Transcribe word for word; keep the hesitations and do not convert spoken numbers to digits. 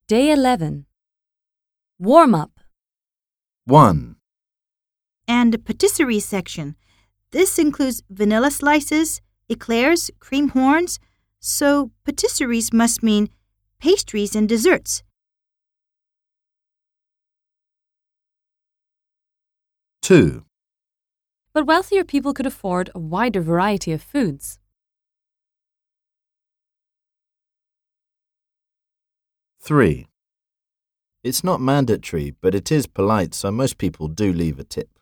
Day eleven. Warm-up. one, And patisserie section. This includes vanilla slices, eclairs, cream horns. So patisseries must mean pastries and desserts. two, But wealthier people could afford a wider variety of foods. three. It's not mandatory, but it is polite, so most people do leave a tip.